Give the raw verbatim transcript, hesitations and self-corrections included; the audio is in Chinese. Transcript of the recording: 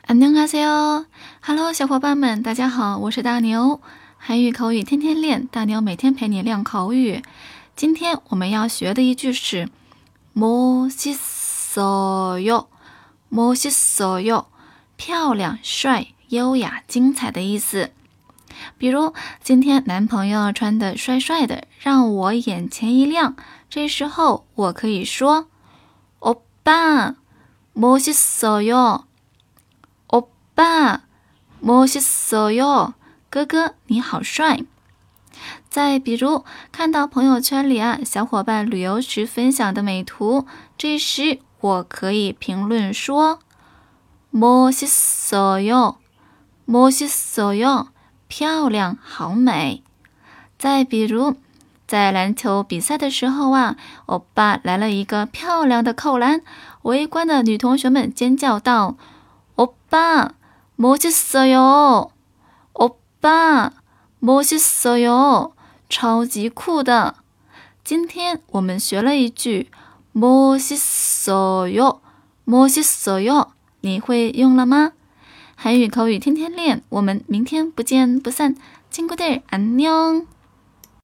안녕하세요 Hello， 小伙伴们，大家好，我是大牛。韩语口语天天练，大牛每天陪你练口语。今天我们要学的一句是멋있어요，멋있어요，漂亮、帅、优雅、精彩的意思。比如今天男朋友穿得帅帅的，让我眼前一亮，这时候我可以说오빠 멋있어요，오빠 멋있어요，哥哥你好帅。再比如看到朋友圈里啊小伙伴旅游时分享的美图，这时我可以评论说멋있어요，멋있어요，漂亮好美。再比如在篮球比赛的时候啊，欧巴来了一个漂亮的扣篮，围观的女同学们尖叫道오빠 멋있어요，오빠 멋있어요，超级酷的。今天我们学了一句멋있어요，멋있어요，你会用了吗？韩语口语天天练，我们明天不见不散。친구들 안녕。